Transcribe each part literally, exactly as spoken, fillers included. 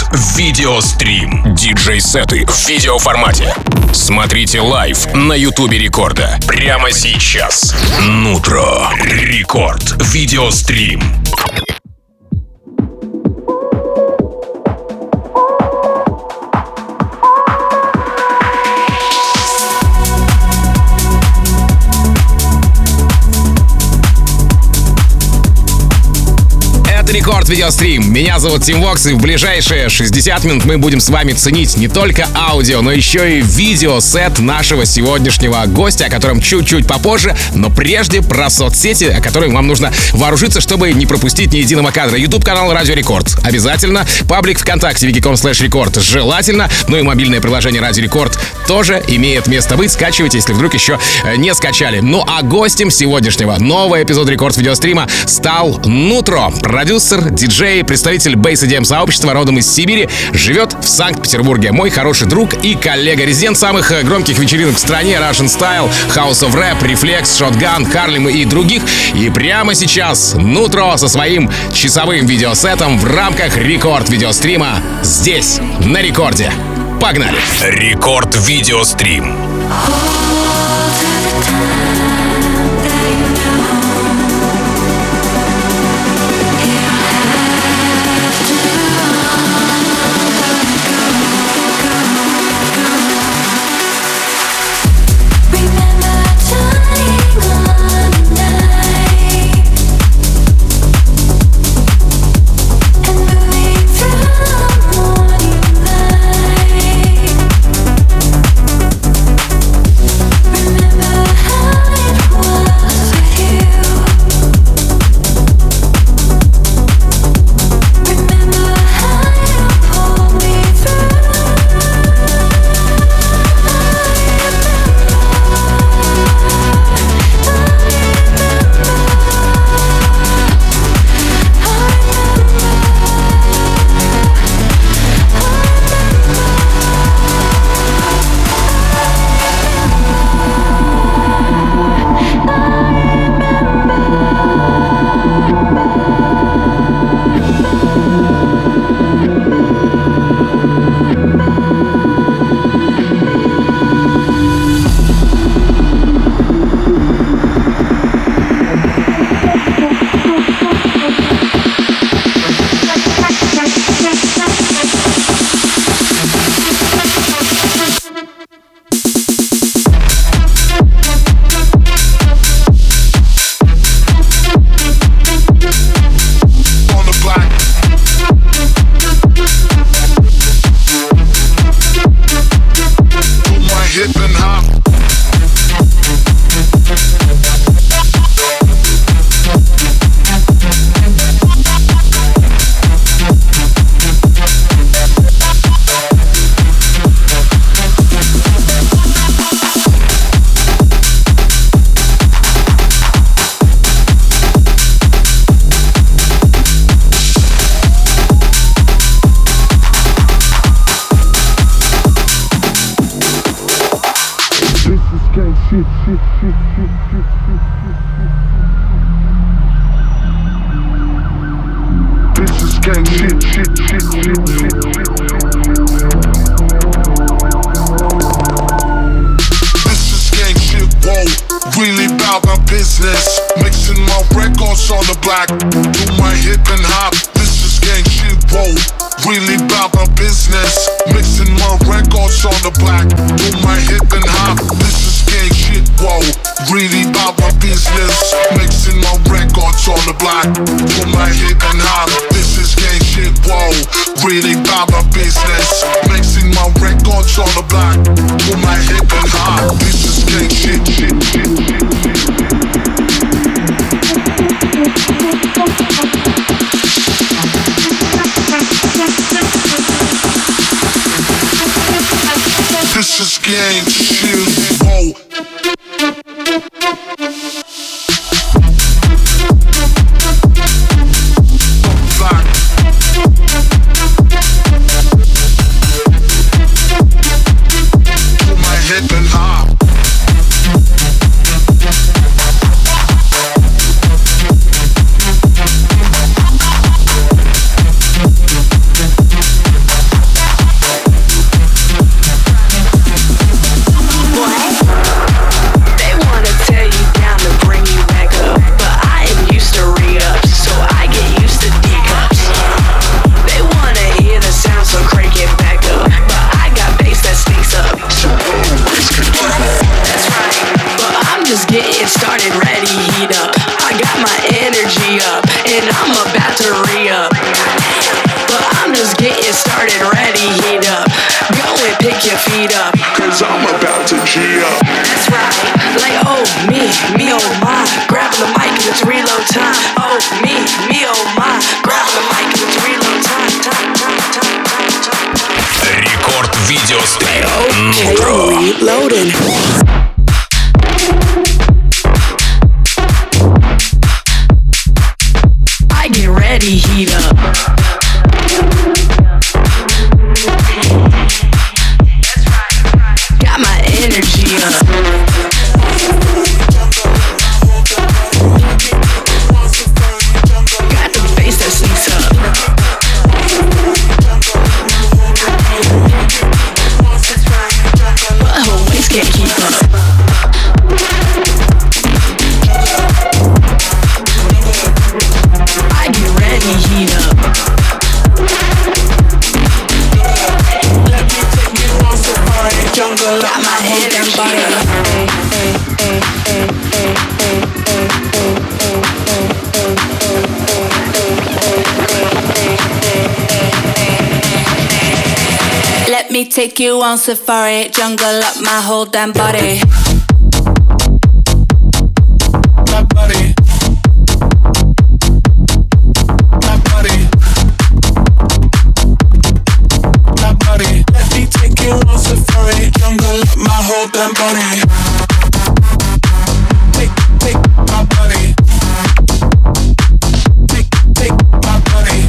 Видеострим. Диджей-сеты в видеоформате. Смотрите лайв на Ютубе Рекорда. Прямо сейчас. Нутро. Рекорд. Видеострим. Рекорд Видеострим. Меня зовут Тим Вокс, и в ближайшие шестьдесят минут мы будем с вами ценить не только аудио, но еще и видеосет нашего сегодняшнего гостя, о котором чуть-чуть попозже, но прежде про соцсети, о которых вам нужно вооружиться, чтобы не пропустить ни единого кадра. YouTube-канал Радио Рекорд. Обязательно. Паблик ВКонтакте wiki.com slash рекорд. Желательно. Ну и мобильное приложение Радио Рекорд тоже имеет место быть. Скачивайте, если вдруг еще не скачали. Ну а гостем сегодняшнего нового эпизода Рекорд Видеострима стал Нутро. Продюсер, диджей, представитель бейс и ди эм сообщества, родом из Сибири, живет в Санкт-Петербурге. Мой хороший друг и коллега, резидент самых громких вечеринок в стране: Russian Style, House of Rap, Reflex, Shotgun, Harlem и других. И прямо сейчас Нутро со своим часовым видеосетом в рамках Рекорд Видеострима здесь, на Рекорде. Погнали! Рекорд Видеострим. get started, ready, heat up. Go and pick your feet up, cause I'm about to G up. That's right, like oh me, me oh my. Grabbing the mic and it's reload time. Oh me, me oh my. Grabbing the mic and it's reload time. Time, time, time, time, time. Рекорд видеострим. Okay, Нутро. reloading. I get ready, heat up. Got my energy up. Got the bass that sneaks up. But her waist can't keep up. I get ready, heat up. Got my energy Let me take you on safari, jungle up my whole damn body. My body. My body. My body. Let me take you on safari, jungle up my whole damn body. Take, take my body. Take, take my body.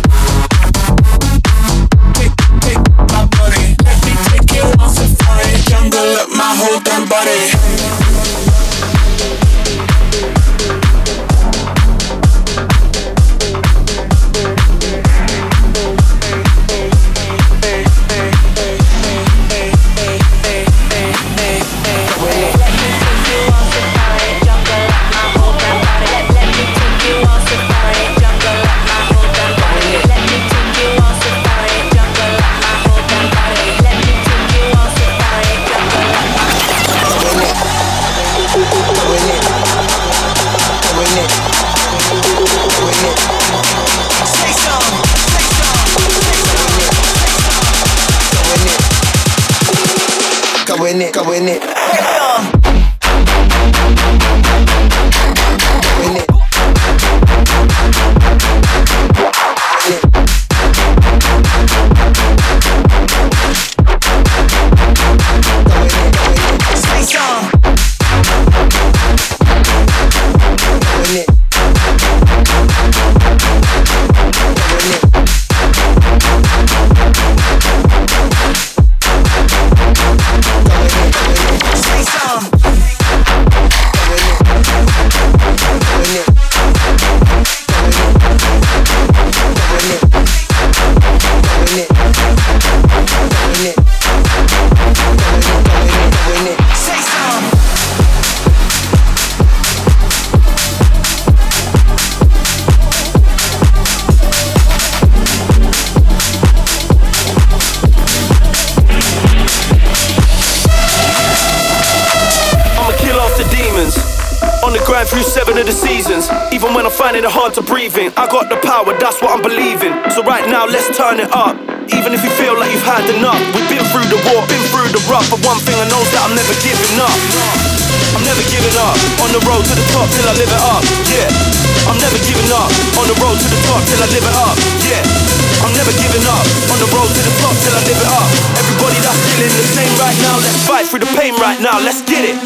Take, take my body. Let me take you on safari, jungle up my whole damn body. Go in it, go in it. Through seven of the seasons, even when I'm finding it hard to breathe in, I got the power, that's what I'm believing. So right now, let's turn it up. Even if you feel like you've had enough, we've been through the war, been through the rough. But one thing I know is that I'm never giving up. I'm never giving up. On the road to the top till I live it up. Yeah, I'm never giving up. On the road to the top till I live it up. Yeah, I'm never giving up. On the road to the top till I live it up. Everybody that's feeling the same right now, let's fight through the pain right now. Let's get it.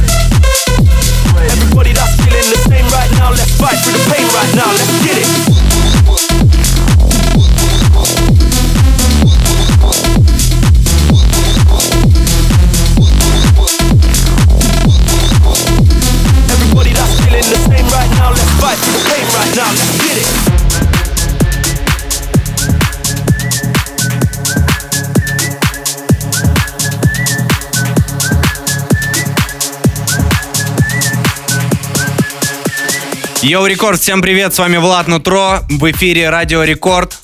Everybody that's feeling the same right now, let's fight through the pain right now. Let's get it. Йоу, Рекорд, всем привет, с вами Влад Нутро, в эфире Радио Рекорд.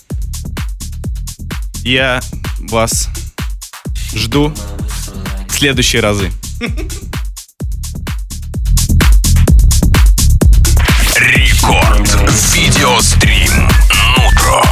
Я вас жду в следующие разы. Рекорд. Видеострим. Нутро.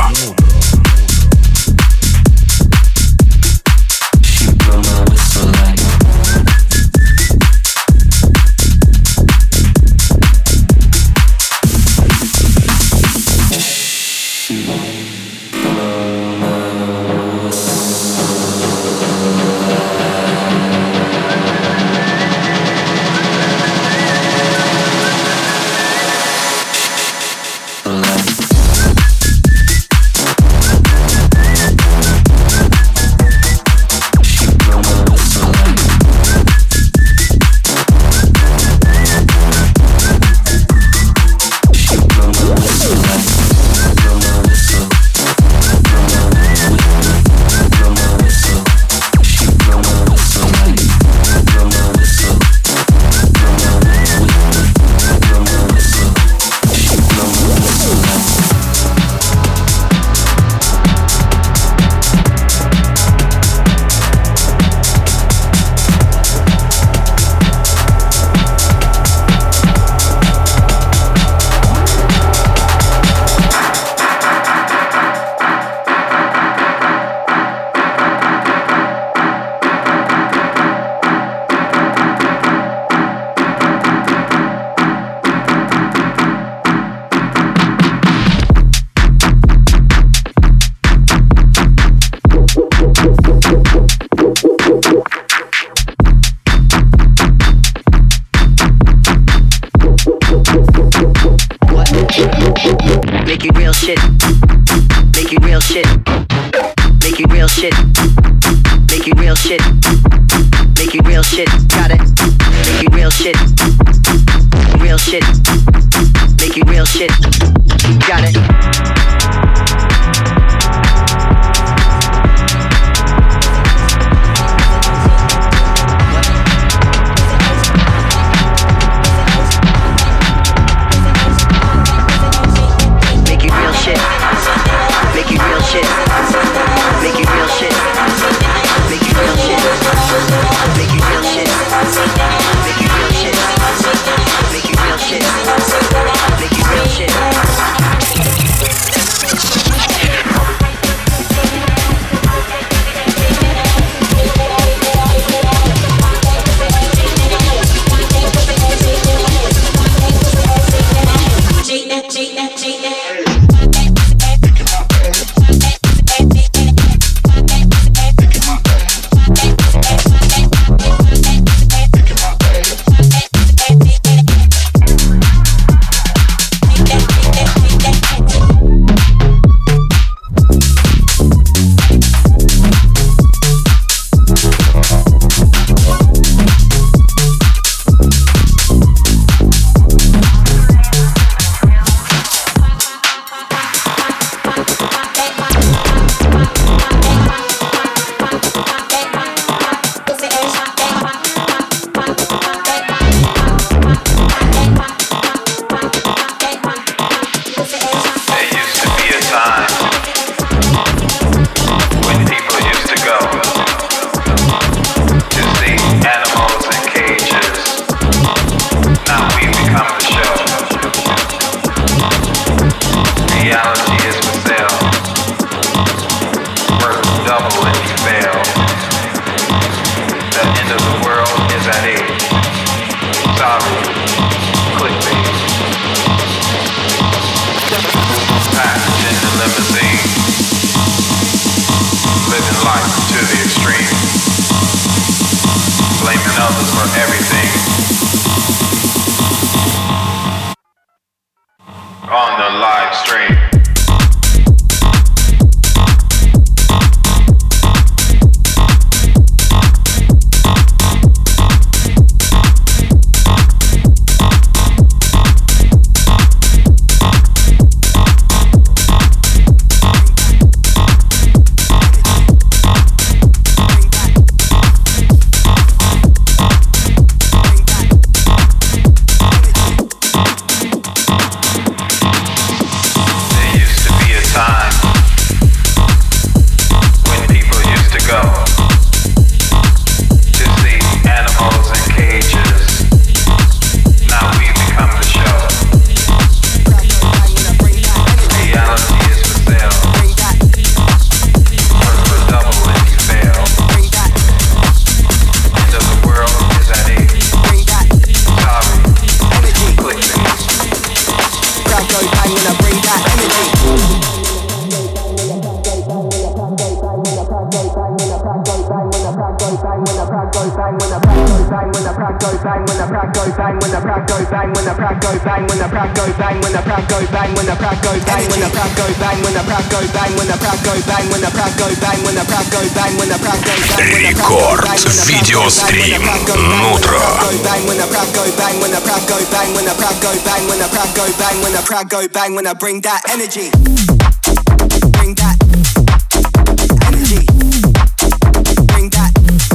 crowd go bang, when the crowd go bang, when the crowd go bang, when the crowd go bang, when the crowd go bang, when the crowd go bang, when the crowd go bang, when the crowd go bang, when the crowd go bang, when the crowd go bang, when the crowd go bang, when the crowd go bang, when the crowd go bang. Рекорд видеострим Нутро. When the crowd go bang, when the crowd go bang, when the crowd go bang, when the crowd go bang, when the crowd go bang, when I bring that energy, bring that energy, bring that,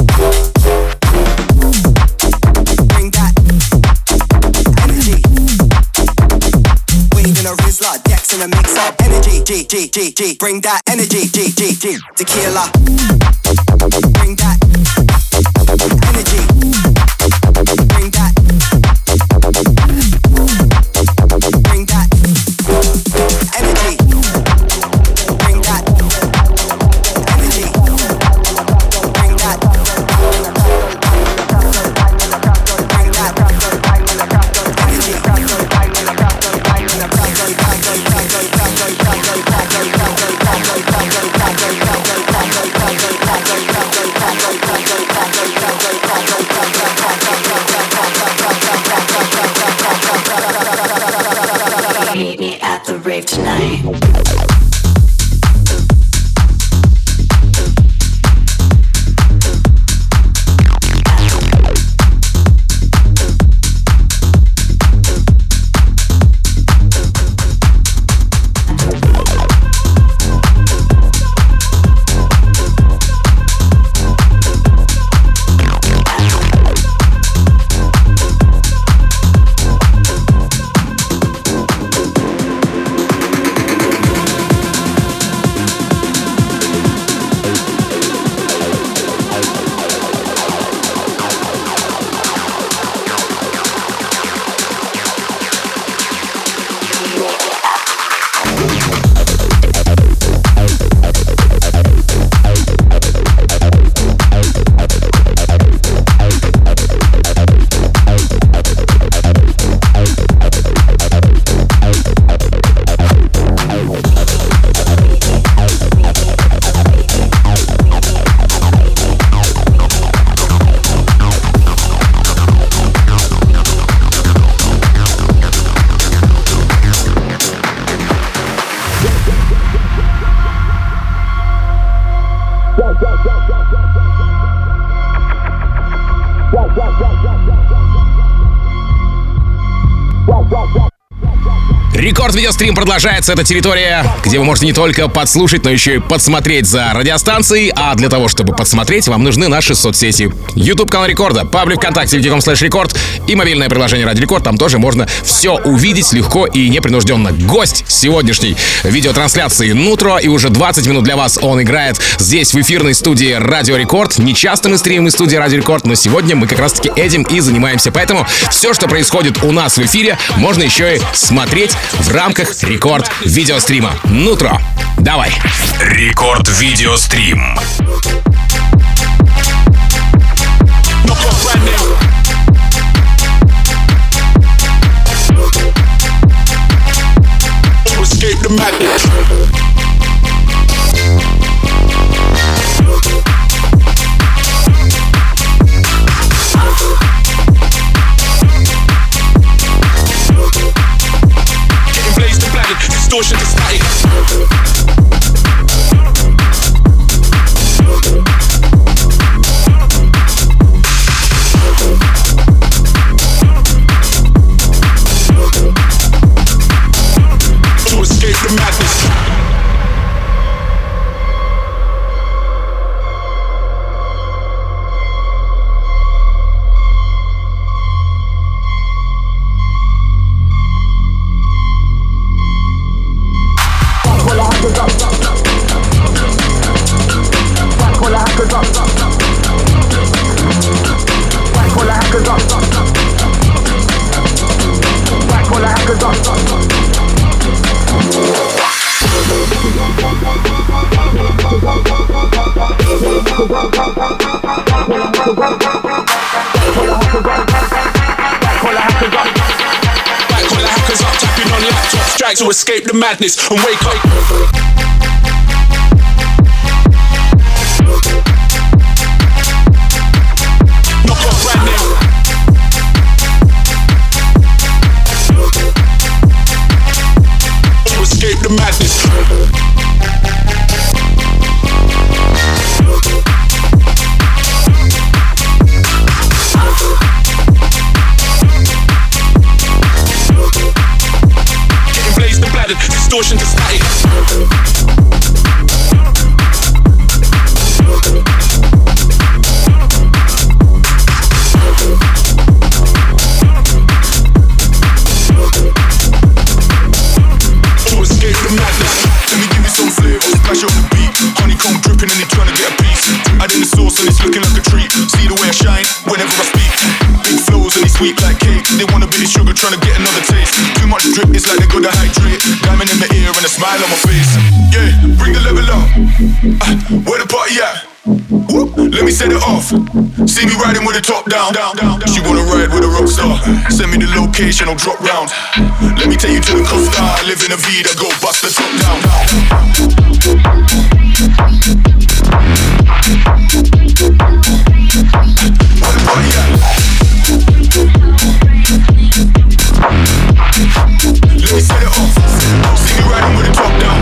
bring that energy. Weed in a Rizla, Dex in a mix up energy, G G G G. Bring that energy, G G G. Tequila, bring that energy, bring that. Bring that energy. Bring that energy. Bring that. Bring that energy. Meet me at the rave tonight. Рекорд видеострим продолжается. Это территория, где вы можете не только подслушать, но еще и подсмотреть за радиостанцией. А для того, чтобы подсмотреть, вам нужны наши соцсети. YouTube канал Рекорда, паблик ВКонтакте, видеоком слэш Рекорд и мобильное приложение Радио Рекорд. Там тоже можно все увидеть легко и непринужденно. Гость сегодняшней видеотрансляции Нутро, и уже двадцать минут для вас он играет здесь, в эфирной студии Радио Рекорд. Не часто мы стримим из студии Радио Рекорд, но сегодня мы как раз-таки этим и занимаемся. Поэтому все, что происходит у нас в эфире, можно еще и смотреть в рамках Рекорд видеострима. Нутро, давай. Рекорд видеострим. Escape the madness. Distortion to static. To escape the madness. To escape the madness and wake up. Knock off brand new. distortion to static. To escape the madness, let me give you some flavor. Splash on the beat, honeycomb dripping and they tryna get a piece. Adding the sauce and it's looking like a treat. See the way I shine whenever I speak. Big flows and they sweet like cake. They want a bit of sugar, tryna get another taste. Too much drip, it's like they gotta hydrate. Diamond in my ear and a smile on my face. Yeah, bring the level up. Uh, where the party at? Whoop, let me set it off. See me riding with the top down. She wanna ride with a rock star. Send me the location, I'll drop round. Let me take you to the coast. I live in a Vida, go bust the top down. Where the party at? Let me set it off. See me riding with the top down.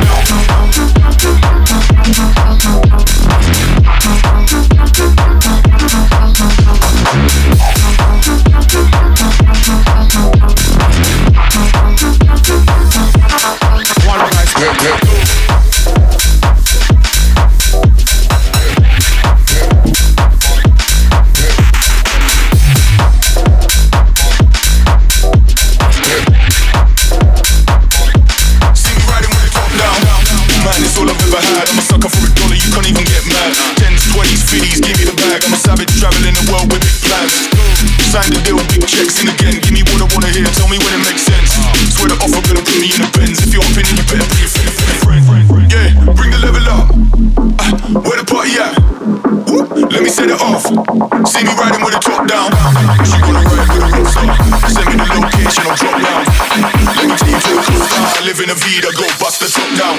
Sign the deal, big checks in again. Give me what I wanna hear, tell me when it makes sense. Swear the offer gonna put me in the Benz. If you're upping it, you better bring your friend, friend, friend. Yeah, bring the level up. Uh, where the party at? Whoop, let me set it off. See me riding with the top down. She wanna ride with a rock star. Send me the location, I'll drop down. Let me take you to the coast. I live in a Vida, go bust the top down.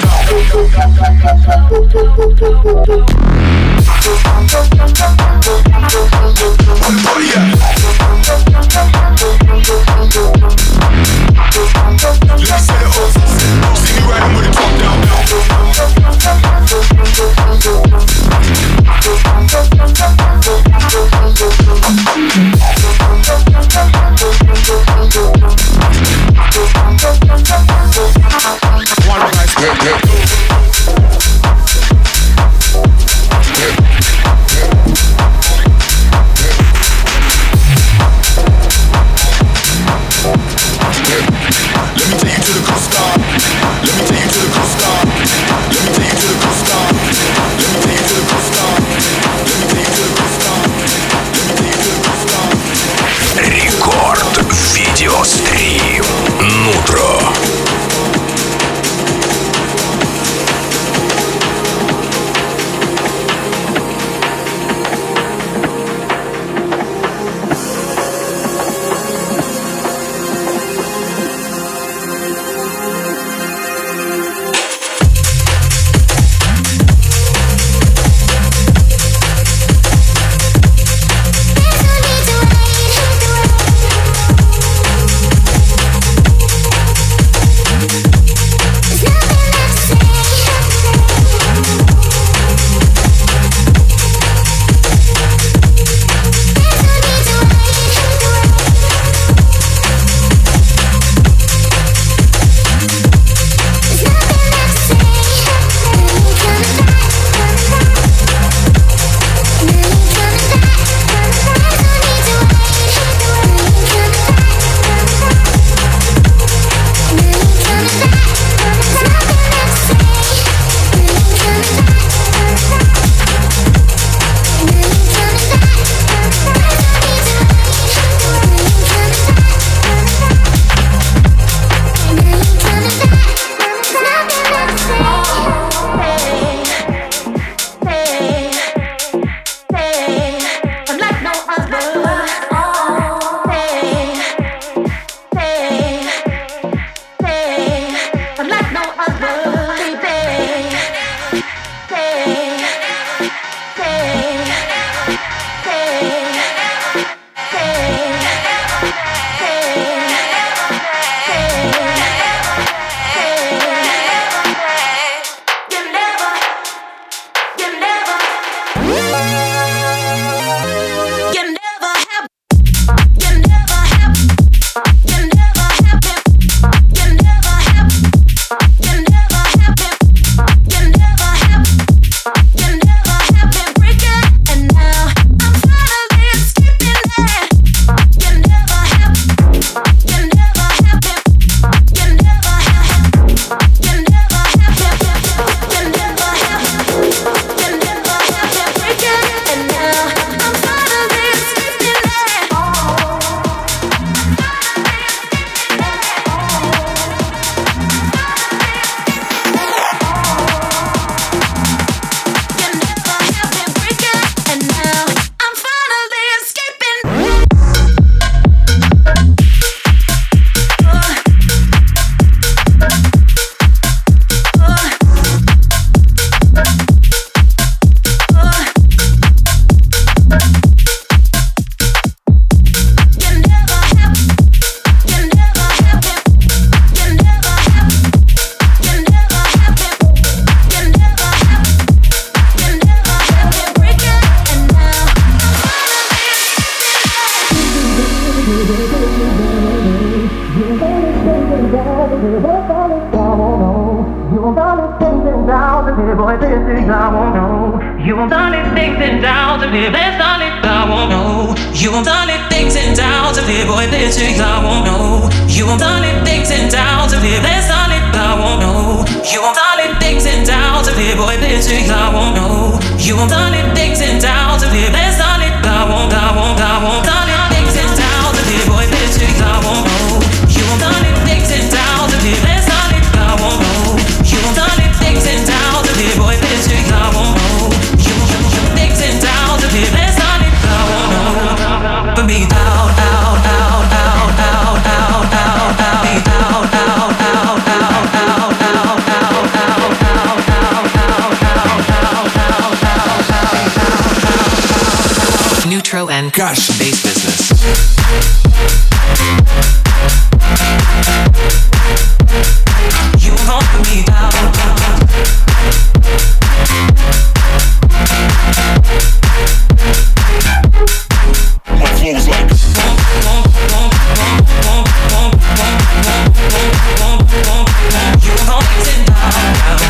Where the party at? Let me set it off. See me riding with the top down. Gosh, bass business. You won't put me down. My flow's like you won't sit down.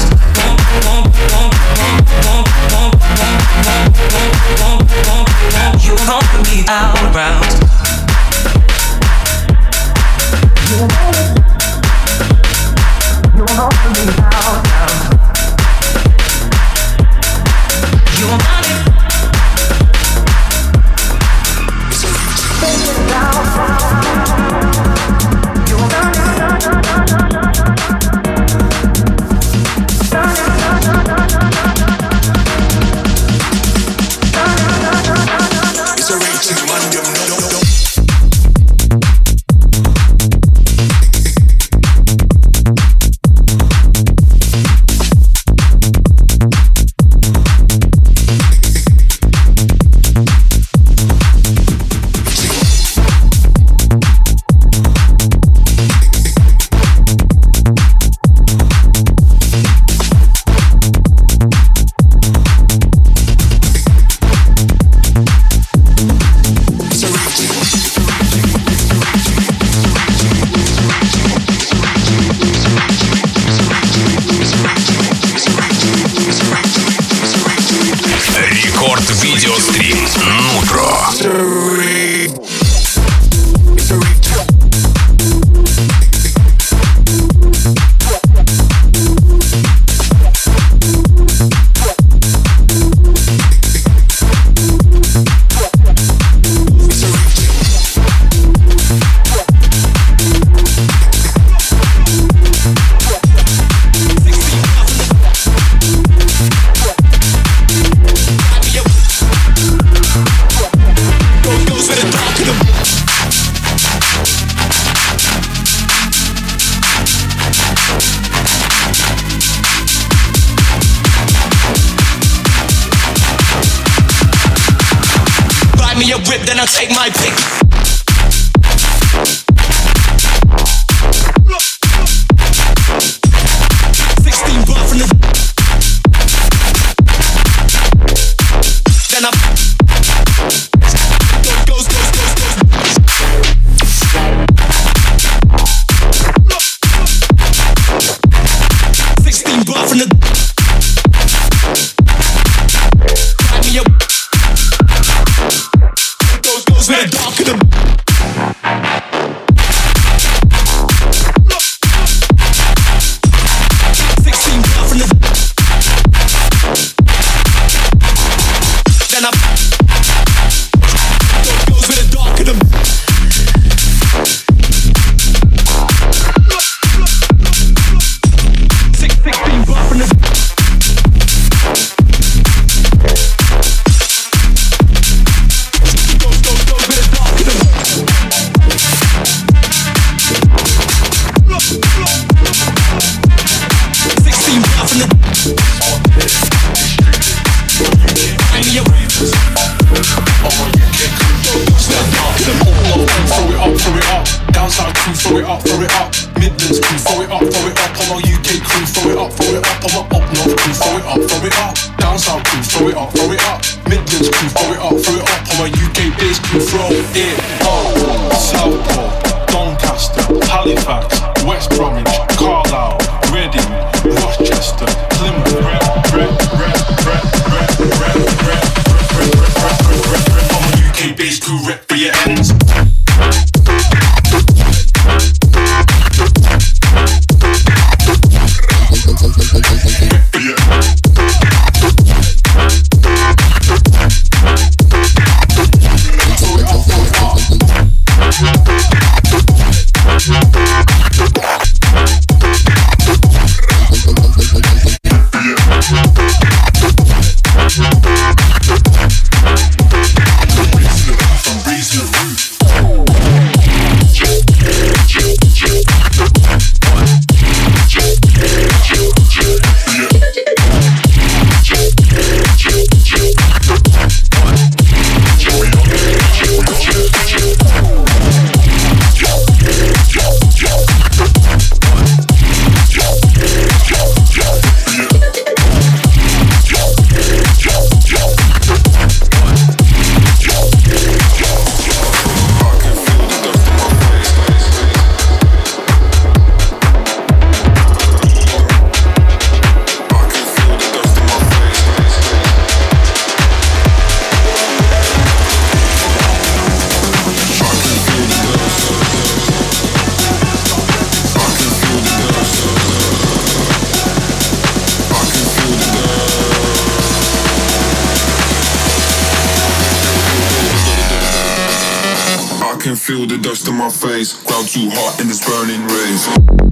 You won't put me out round. You won't put me out round. You won't put me Видеострим Нутро. Then I'll take my pick. sixteen bar from the. Then I. Goes, goes, goes, goes. sixteen bar from the. Light me up. Goes with the dark of the. sixteen bar from the. Then I. Goes with the dark of the. sixteen bar from the. Throw it up, throw it up. Midlands crew, throw it up, throw it up. On our U K crew, throw it up, throw it up. On our up north crew, throw it up, throw it up. Down south crew, throw it up, throw it up. Midlands crew, throw it up, throw it up. On our U K base crew, throw it up. Southport, Doncaster, Halifax, West Bromwich, feel the dust on my face. Ground too hot in this burning rays.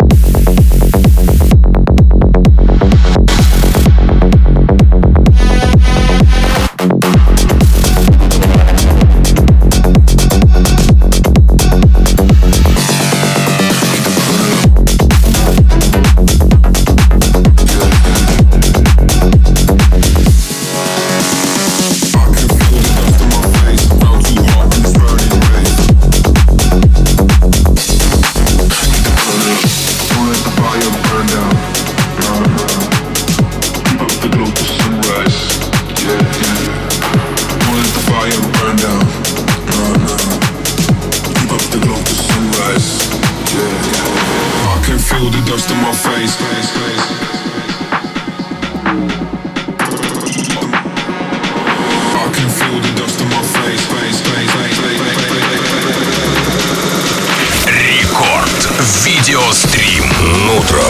Видеострим Нутро.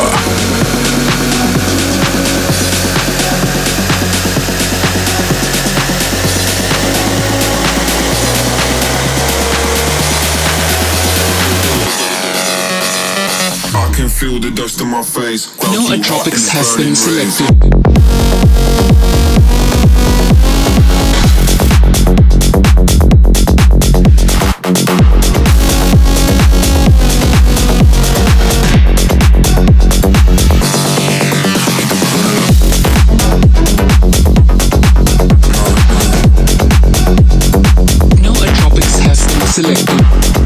I can feel the dust on my face. Nootropics has been selected. Selected.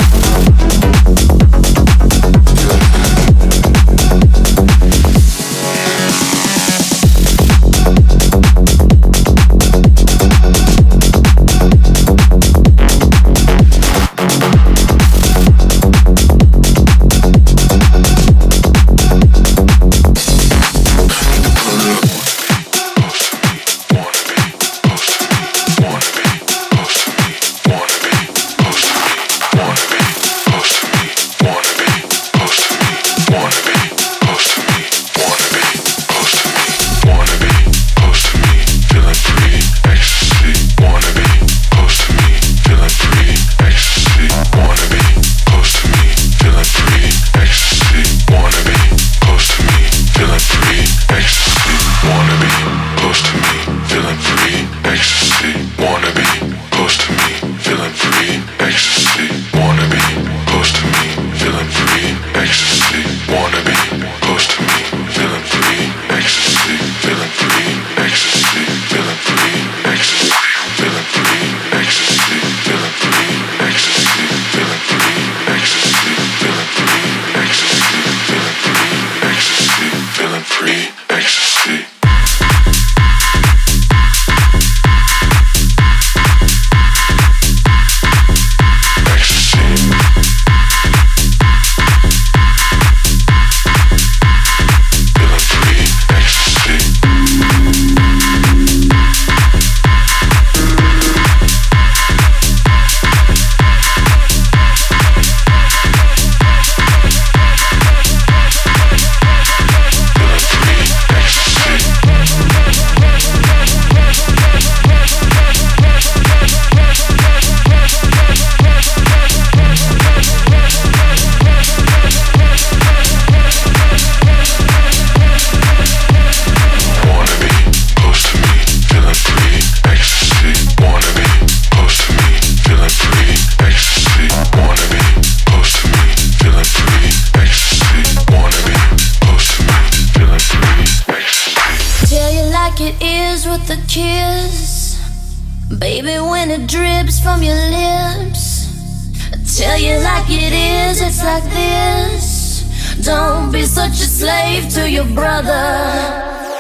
Baby, when it drips from your lips, I tell you like it is, it's like this. Don't be such a slave to your brother.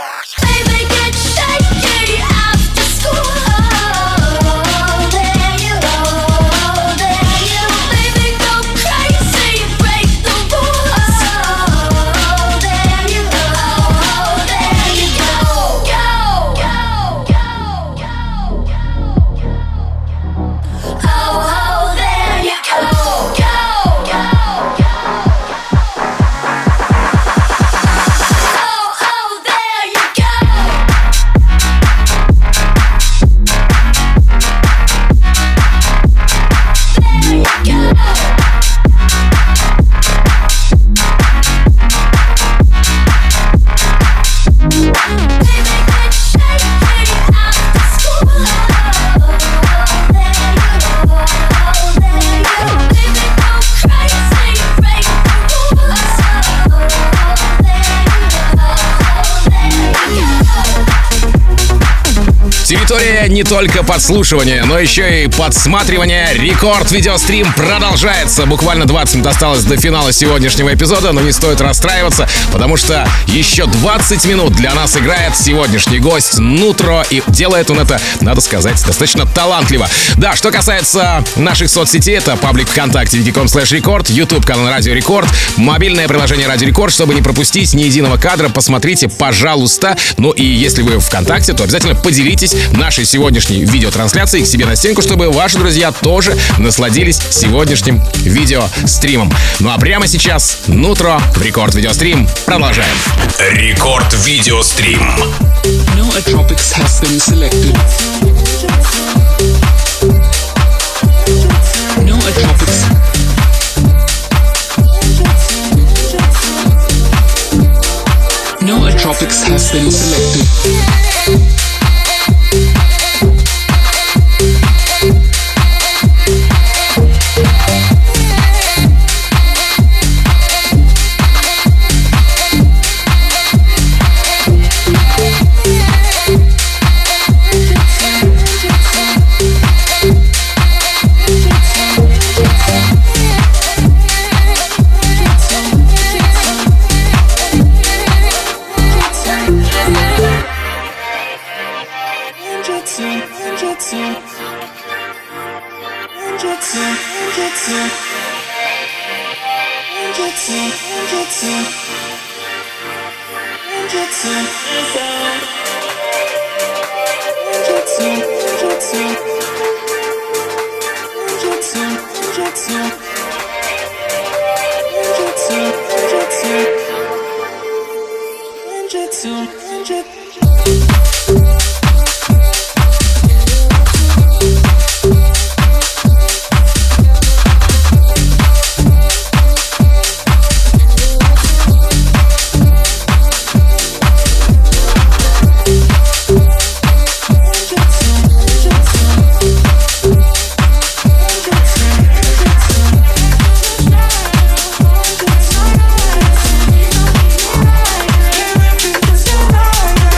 Baby, get shaky after school. Oh, there Территория не только подслушивания, но еще и подсматривания. Рекорд видеострим продолжается. Буквально двадцать минут осталось до финала сегодняшнего эпизода, но не стоит расстраиваться, потому что еще двадцать минут для нас играет сегодняшний гость Нутро, и делает он это, надо сказать, достаточно талантливо. Да, что касается наших соцсетей, это паблик ВКонтакте вики точка ком слэш рекорд, YouTube канал Радио Рекорд, мобильное приложение Радио Рекорд. Чтобы не пропустить ни единого кадра, посмотрите, пожалуйста. Ну и если вы ВКонтакте, то обязательно поделитесь нашей сегодняшней видеотрансляцией к себе на стенку, чтобы ваши друзья тоже насладились сегодняшним видеостримом. Ну а прямо сейчас Нутро в Рекорд Видеострим. Продолжаем. Рекорд Видеострим. Nootropics has been selected. Nootropics. Nootropics has been selected. Tonight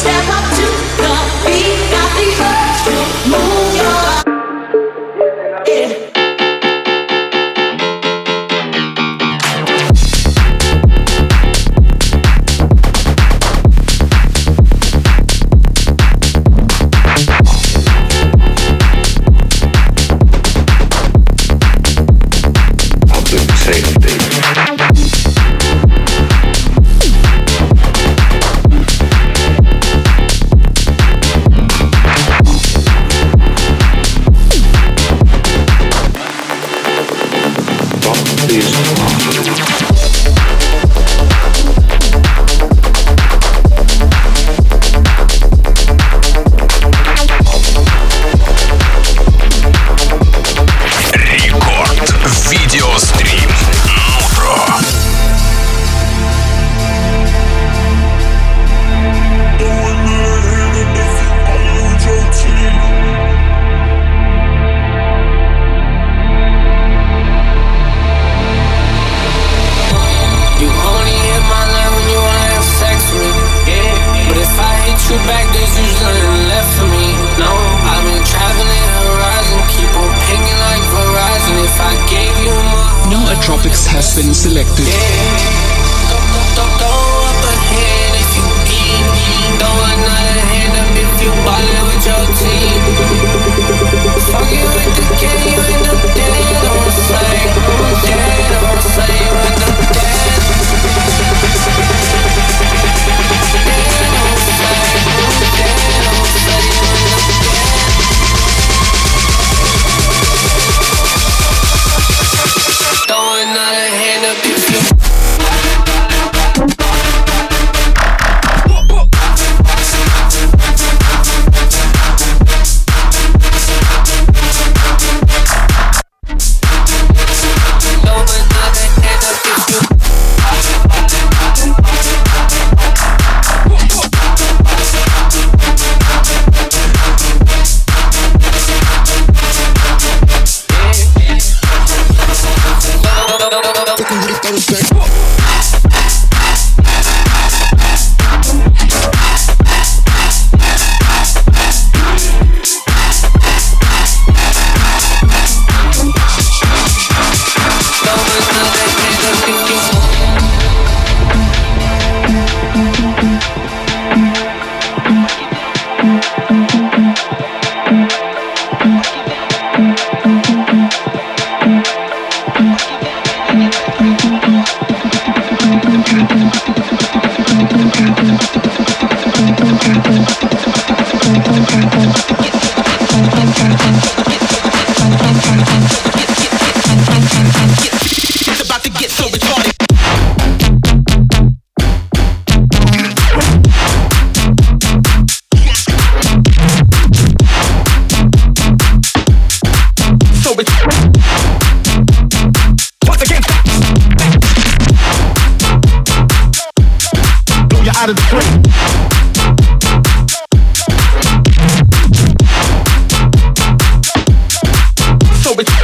step up to the beat, got the urge to move your yeah. Tropics has been selected. Out of the frame. So it's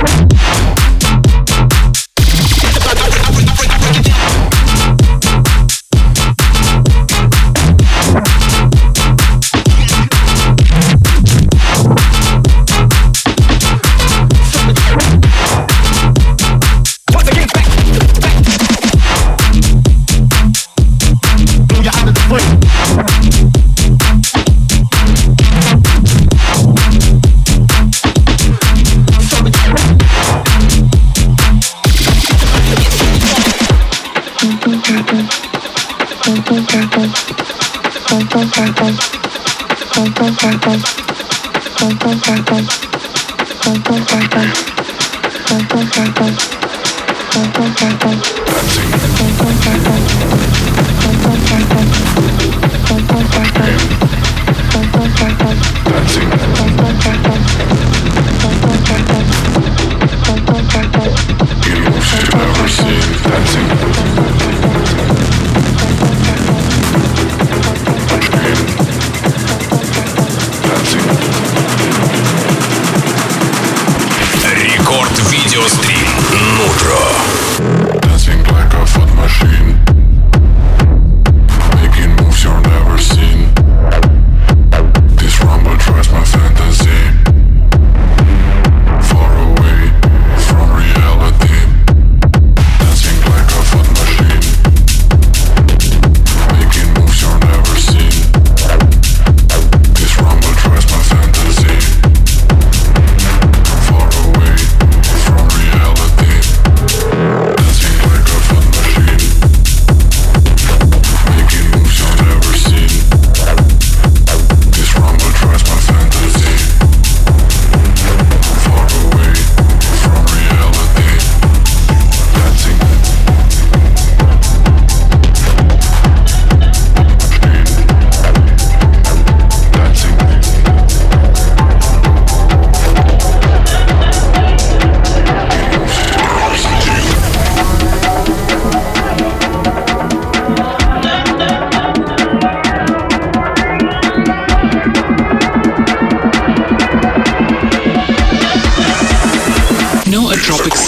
Видеострим Нутро. Dancing like a fun machine. Making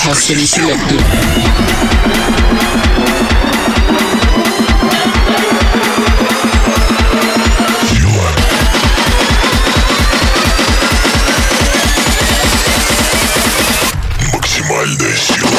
has been selected. Максимальная сила.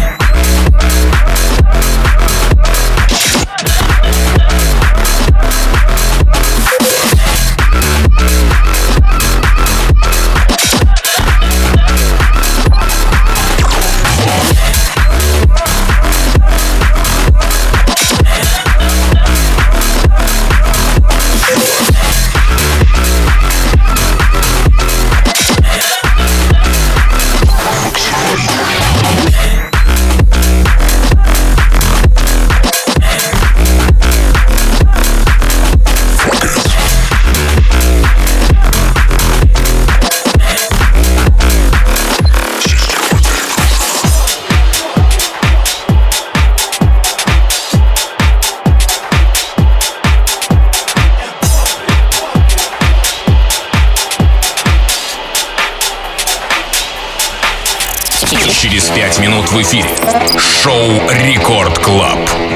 Через пять минут в эфире шоу Рекорд Клаб.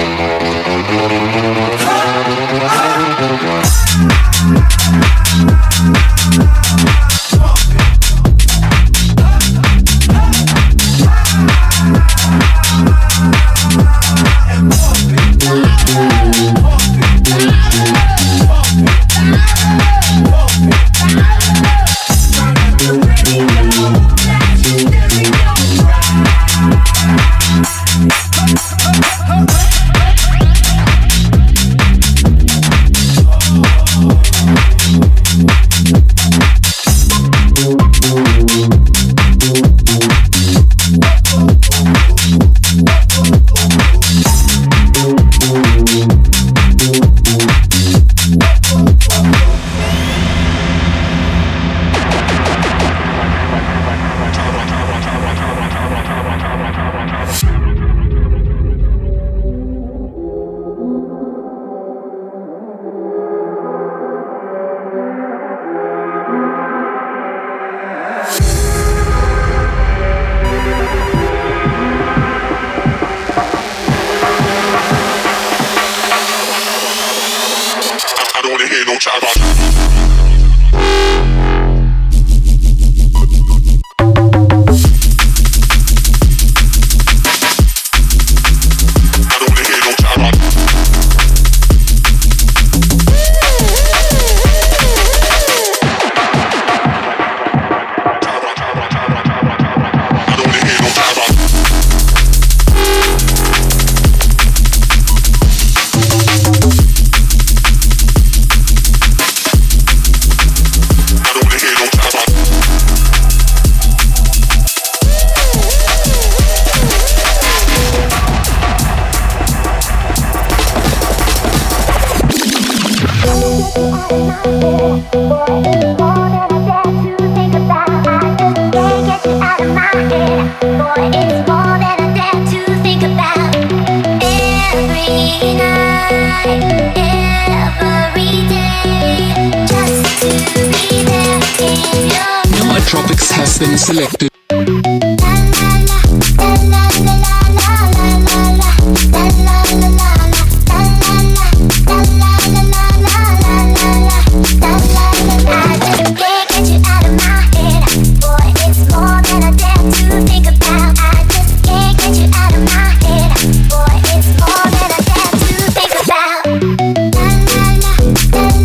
Tropics has been selected.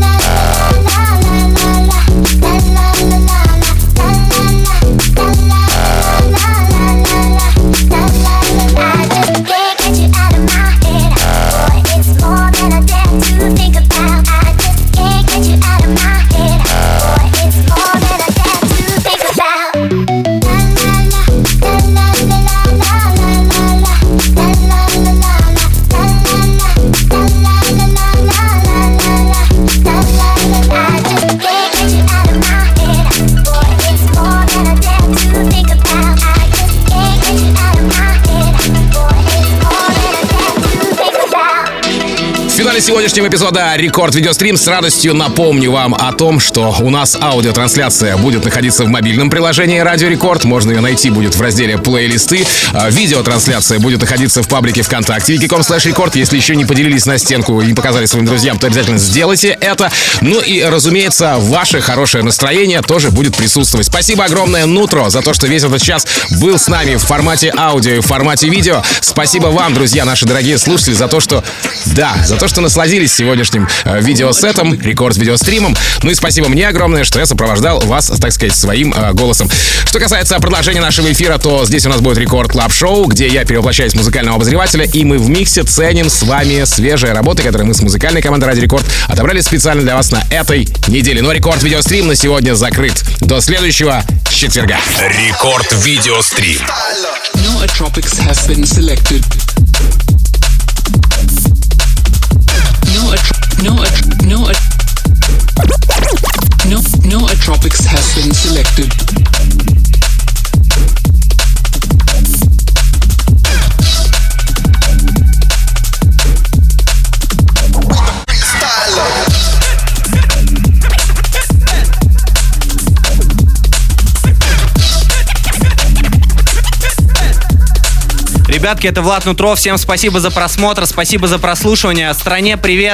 La финале сегодняшнего эпизода Рекорд Видеострим с радостью напомню вам о том, что у нас аудиотрансляция будет находиться в мобильном приложении Радио Рекорд. Можно ее найти будет в разделе плейлисты. Видеотрансляция будет находиться в паблике ВКонтакте вики точка ком слэш рекорд. Если еще не поделились на стенку и не показали своим друзьям, то обязательно сделайте это. Ну и, разумеется, ваше хорошее настроение тоже будет присутствовать. Спасибо огромное Нутро за то, что весь этот час был с нами в формате аудио и в формате видео. Спасибо вам, друзья, наши дорогие слушатели, за то, что, да, за то, что насладились сегодняшним э, видеосетом, рекорд-видеостримом. Ну и спасибо мне огромное, что я сопровождал вас, так сказать, своим э, голосом. Что касается продолжения нашего эфира, то здесь у нас будет Рекорд Клаб Шоу, где я перевоплощаюсь в музыкального обозревателя, и мы в миксе ценим с вами свежие работы, которые мы с музыкальной командой Радио Рекорд отобрали специально для вас на этой неделе. Но Рекорд-видеострим на сегодня закрыт. До следующего четверга. Рекорд-видеострим. Nootropics has been selected. No, no, no, no, Nootropics has been selected. Ребятки, это Влад Нутро. Всем спасибо за просмотр, спасибо за прослушивание. Стране привет.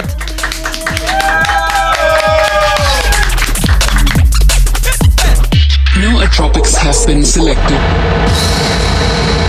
Nootropics has been selected.